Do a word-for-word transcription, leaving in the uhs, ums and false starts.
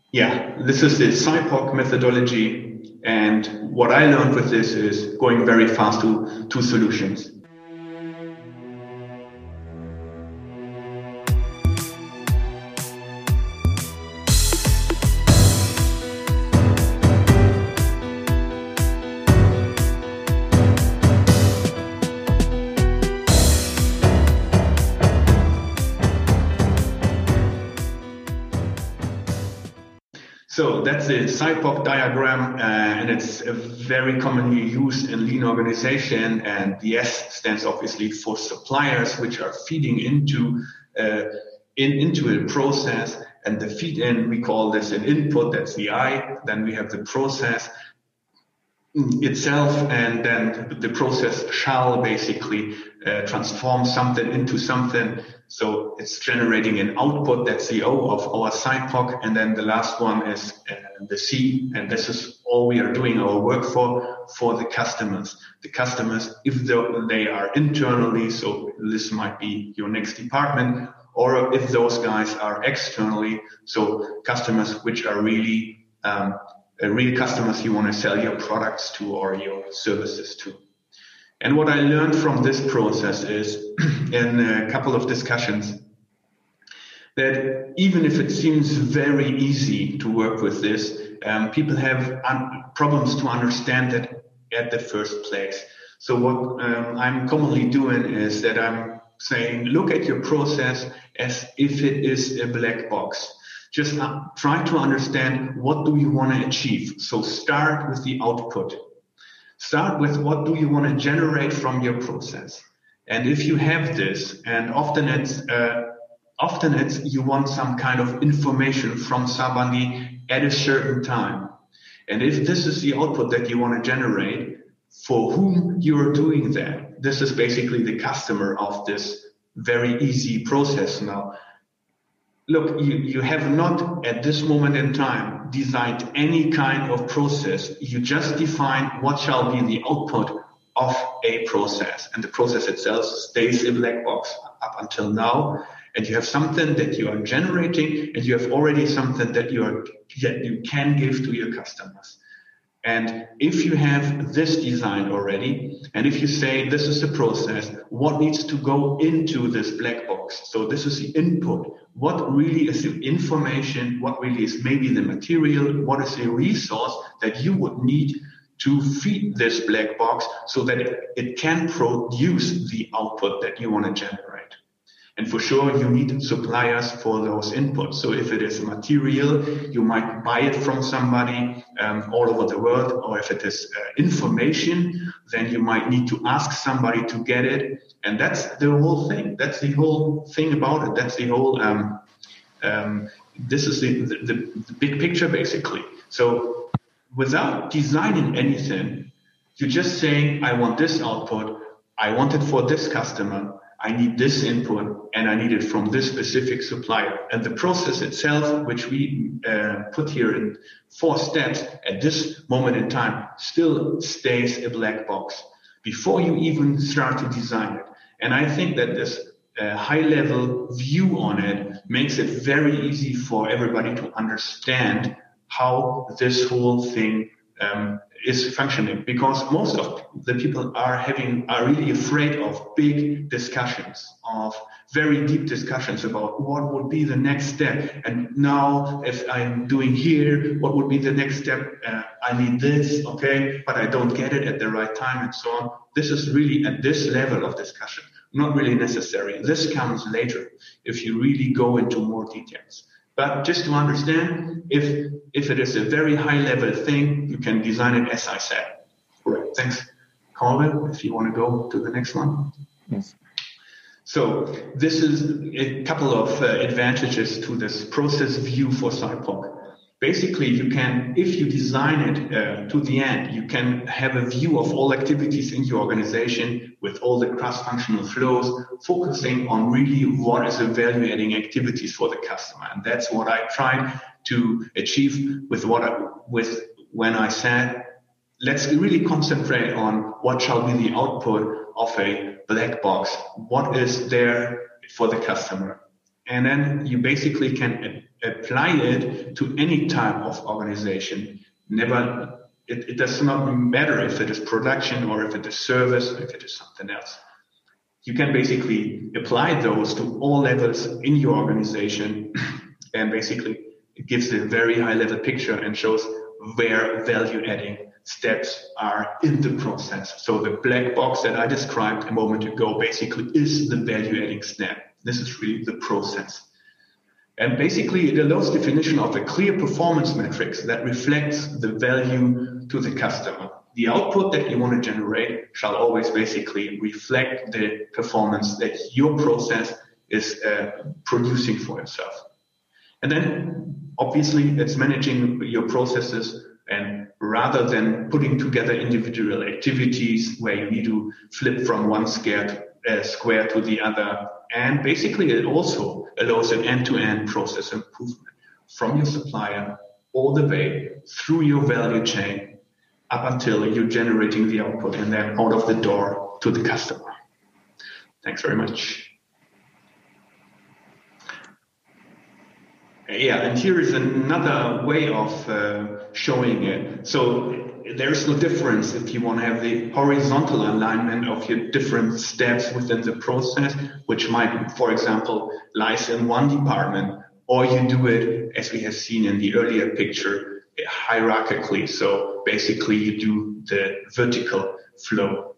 Yeah, this is the S I P O C methodology. And what I learned with this is going very fast to, to solutions. So that's the S I P O C diagram, uh, and it's uh, very commonly used in lean organization. And the S stands obviously for suppliers, which are feeding into uh, in, into a process. And the feed in, we call this an input, that's the I. Then we have the process itself, and then the process shall basically uh, transform something into something. So it's generating an output, that's the O of our S I P O C. And then the last one is uh, the C, and this is all we are doing our work for, for the customers. The customers, if they are internally, so this might be your next department, or if those guys are externally, so customers which are really um, uh, real customers you want to sell your products to or your services to. And what I learned from this process is, in a couple of discussions, that even if it seems very easy to work with this, um, people have un- problems to understand that at the first place. So what um, I'm commonly doing is that I'm saying, look at your process as if it is a black box. Just uh, try to understand, what do you want to achieve? So start with the output. Start with, what do you want to generate from your process? And if you have this, and often it's, uh, often it's you want some kind of information from somebody at a certain time. And if this is the output that you want to generate, for whom you're doing that, this is basically the customer of this very easy process now. Look, you, you have not at this moment in time designed any kind of process. You just define what shall be the output of a process. And the process itself stays a black box up until now. And you have something that you are generating, and you have already something that you are that you can give to your customers. And if you have this design already, and if you say this is the process, what needs to go into this black box? So this is the input. What really is the information? What really is maybe the material? What is the resource that you would need to feed this black box so that it, it can produce the output that you want to generate? And for sure, you need suppliers for those inputs. So if it is a material, you might buy it from somebody um, all over the world. Or if it is uh, information, then you might need to ask somebody to get it. And that's the whole thing. That's the whole thing about it. That's the whole, um, um, this is the, the, the big picture, basically. So without designing anything, you're just saying, I want this output. I want it for this customer. I need this input, and I need it from this specific supplier. And the process itself, which we uh, put here in four steps at this moment in time, still stays a black box before you even start to design it. And I think that this uh, high-level view on it makes it very easy for everybody to understand how this whole thing um, is functioning, because most of the people are having are really afraid of big discussions, of very deep discussions about what would be the next step. And now, if I'm doing here, what would be the next step? Uh, I need this, okay, but I don't get it at the right time, and so on. This is really at this level of discussion not really necessary. This comes later if you really go into more details. But just to understand, if if it is a very high-level thing, you can design it as I said. Correct. Thanks, Colin. If you want to go to the next one. Yes. So this is a couple of uh, advantages to this process view for S I P O C. Basically, you can, if you design it uh, to the end, you can have a view of all activities in your organization with all the cross-functional flows, focusing on really what is the value-adding activities for the customer. And that's what I tried to achieve with what I, with when I said, let's really concentrate on what shall be the output of a black box. What is there for the customer? And then you basically can a- apply it to any type of organization. Never, it, it does not matter if it is production or if it is service, or if it is something else. You can basically apply those to all levels in your organization, and basically it gives a very high level picture and shows where value adding steps are in the process. So the black box that I described a moment ago basically is the value adding step. This is really the process. And basically it allows definition of a clear performance metrics that reflects the value to the customer. The output that you want to generate shall always basically reflect the performance that your process is uh, producing for itself. And then obviously it's managing your processes, and rather than putting together individual activities where you need to flip from one square to, uh, square to the other. And basically it also allows an end-to-end process improvement from your supplier all the way through your value chain up until you're generating the output and then out of the door to the customer. Thanks very much. Yeah, and here is another way of uh, showing it. So there's no difference if you want to have the horizontal alignment of your different steps within the process, which might, for example, lies in one department, or you do it, as we have seen in the earlier picture, hierarchically. So basically you do the vertical flow.